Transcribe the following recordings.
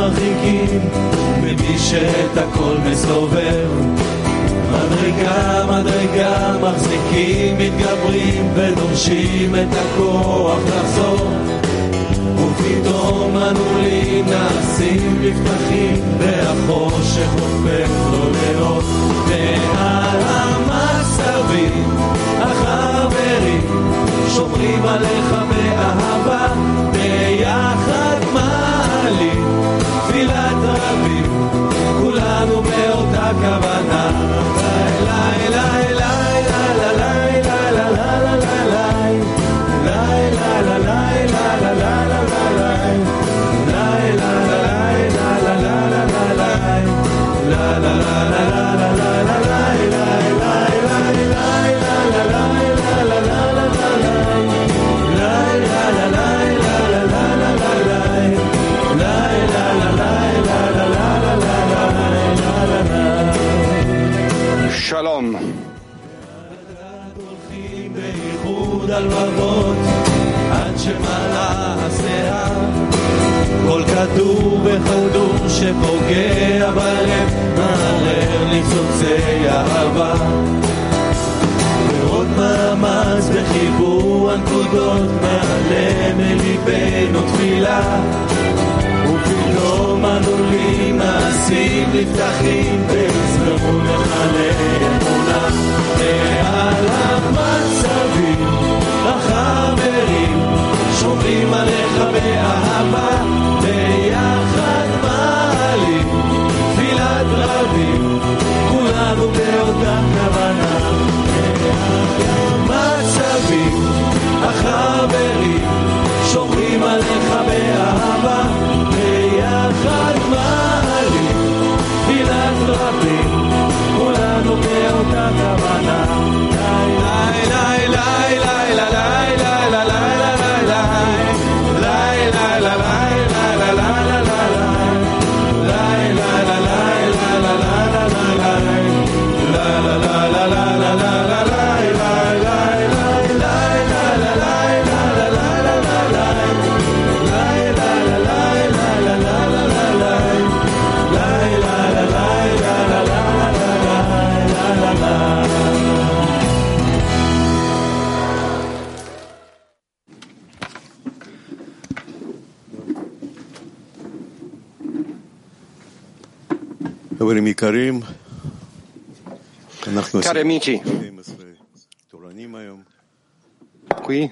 מרחיקים ממי שאת הכל מסובב. מדרגה מדרגה מחזיקים, מתגברים ודורשים את הכוח לחזור, ופתאום הנעולים נעשים מבטחים והחושך הופך לו לאות. ועל המצבים החברים שומרים עליך באהבה, ביחד מעלים תפילת רבים, כולנו באותה כוונה. שלום. על רבות עד שמעלה השיער, כל כדור וכדור שפוגע בלב מערער ניצוצי אהבה, ועוד מאמץ בחיבור הנקודות מעלה מליבנו תפילה, ופתאום הנעולים נעשים נפתחים ויזרמו למלא אמונה. ועל המצבים החברים שומרים עליך באהבה, ביחד מעלים תפילת רבים, כולנו באותה כוונה. המצבים החברים שומרים עליך באהבה, ביחד מעלים תפילת רבים, כולנו באותה כוונה. Cari amici, qui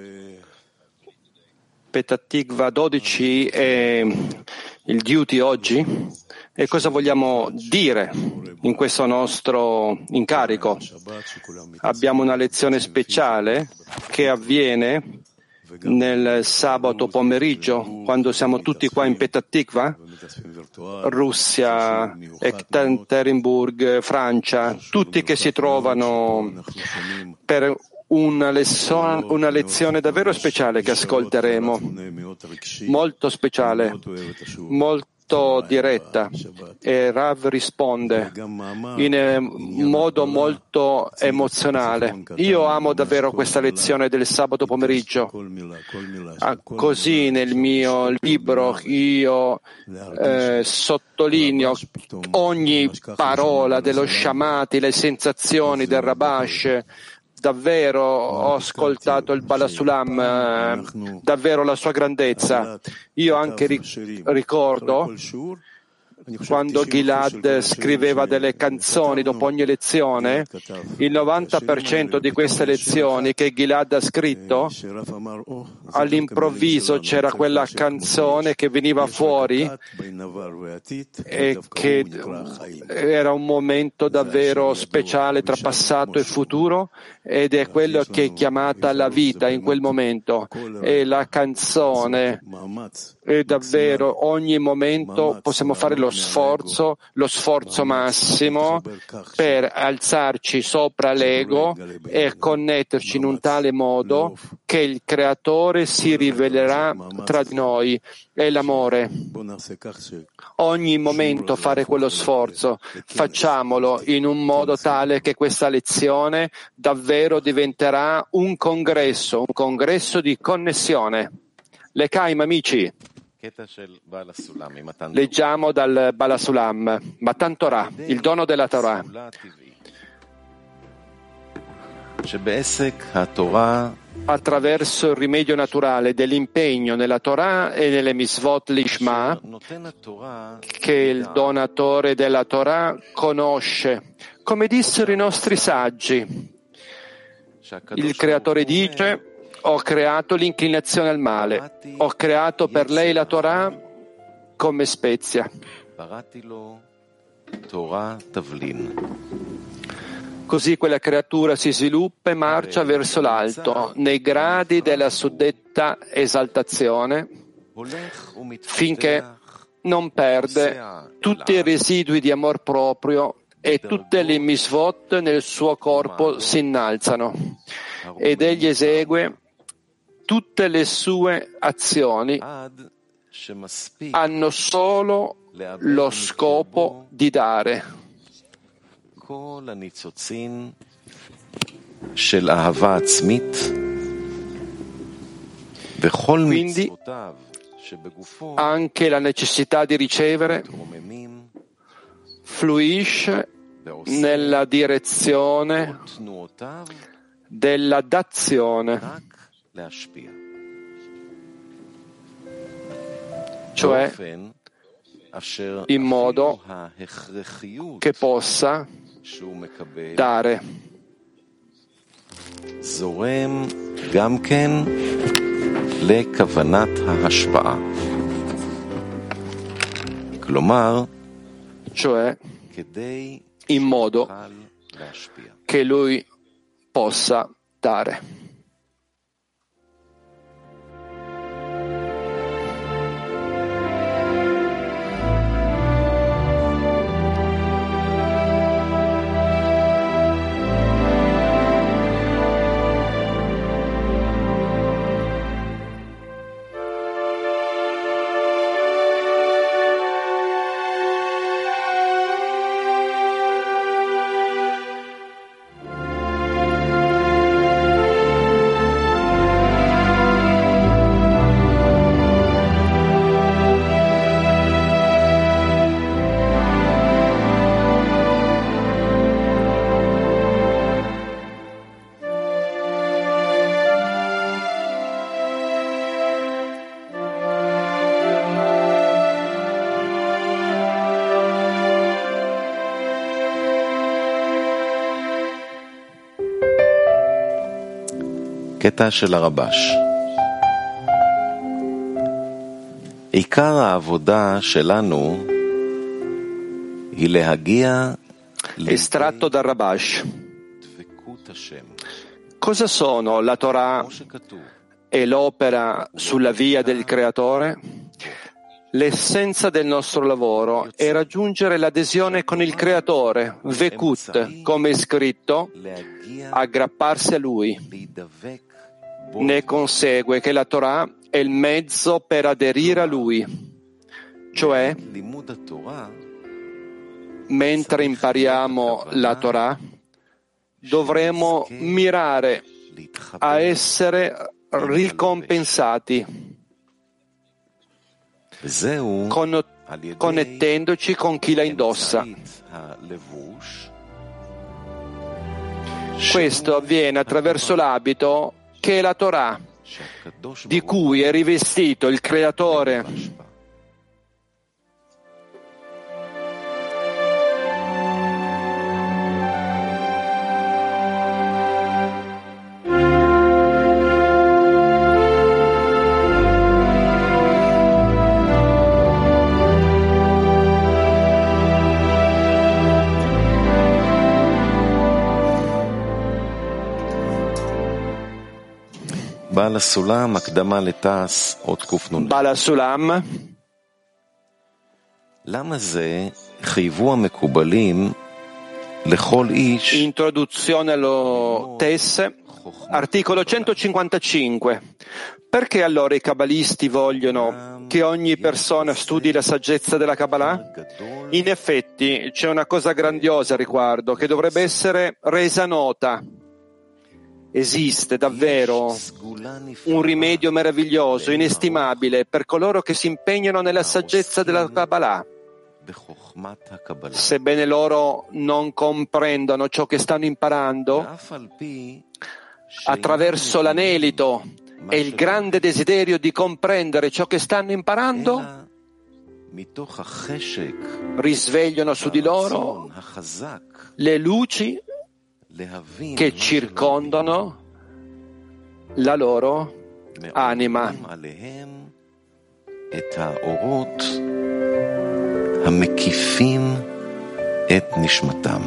Petah Tikva 12 è il duty oggi, e cosa vogliamo dire in questo nostro incarico? Abbiamo una lezione speciale che avviene nel sabato pomeriggio, quando siamo tutti qua in Petah Tikva, Russia, Ekaterinburg, Francia, tutti che si trovano per una lezione davvero speciale che ascolteremo, molto speciale, molto diretta, e Rav risponde in modo molto emozionale. Io amo davvero questa lezione del sabato pomeriggio. Così nel mio libro io sottolineo ogni parola dello Shamati, le sensazioni del Rabash. Davvero ho ascoltato il Balasulam, davvero la sua grandezza. Io anche ricordo quando Gilad scriveva delle canzoni dopo ogni lezione, il 90% di queste lezioni che Gilad ha scritto, all'improvviso c'era quella canzone che veniva fuori e che era un momento davvero speciale tra passato e futuro, ed è quello che è chiamata la vita in quel momento. E la canzone è davvero, ogni momento possiamo fare lo sforzo massimo per alzarci sopra l'ego e connetterci in un tale modo che il Creatore si rivelerà tra di noi. È l'amore. Ogni momento fare quello sforzo, facciamolo in un modo tale che questa lezione davvero diventerà un congresso di connessione. L'Ekaim, amici. Leggiamo dal Balasulam, Matan Torah, il dono della Torah. Attraverso il rimedio naturale dell'impegno nella Torah e nelle Misvot Lishma, che il donatore della Torah conosce. Come dissero i nostri saggi, il Creatore dice: ho creato l'inclinazione al male, ho creato per lei la Torah come spezia. Così quella creatura si sviluppa e marcia verso l'alto, nei gradi della suddetta esaltazione, finché non perde tutti i residui di amor proprio e tutte le misvot nel suo corpo si innalzano, ed egli esegue tutte le sue azioni hanno solo lo scopo di dare. Quindi anche la necessità di ricevere fluisce nella direzione della dazione, cioè in modo che possa dare. Cioè in modo che lui possa dare. קטע של הרבש. עיקר העבודה שלנו היא להגיע estratto dal Rabash. Cosa sono la Torah e l'opera sulla via del Creatore? L'essenza del nostro lavoro è raggiungere l'adesione con il Creatore, Vekut, come è scritto, aggrapparsi a Lui. Ne consegue che la Torah è il mezzo per aderire a Lui, cioè, mentre impariamo la Torah, dovremo mirare a essere ricompensati, connettendoci con chi la indossa. Questo avviene attraverso l'abito che è la Torah, di cui è rivestito il Creatore. Balasulam, הקדמה לתעש, אות קנ"ה. Balasulam. למה זה חייבו המקובלים לכל איש? Introduzione allo Tesse, articolo 155. Perché allora i cabalisti vogliono che ogni persona studi la saggezza della Kabbalah? In effetti c'è una cosa grandiosa a riguardo che dovrebbe essere resa nota. Esiste davvero un rimedio meraviglioso, inestimabile, per coloro che si impegnano nella saggezza della Kabbalah. Sebbene loro non comprendano ciò che stanno imparando, attraverso l'anelito e il grande desiderio di comprendere ciò che stanno imparando, risvegliano su di loro le luci che circondano la loro anima. המקיפים את נשמתם.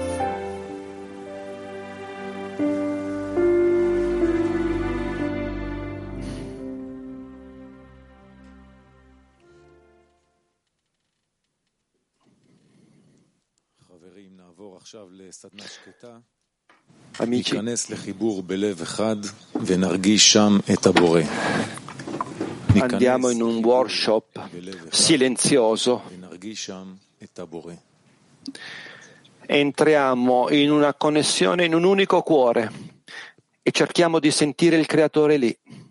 חברים, נעבור עכשיו לסדנה שקטה. Amici, ניכנס לחיבור בלב אחד ונרגיש שם את הבורא. andiamo in un workshop silenzioso. Entriamo in una connessione in un unico cuore e cerchiamo di sentire il Creatore lì.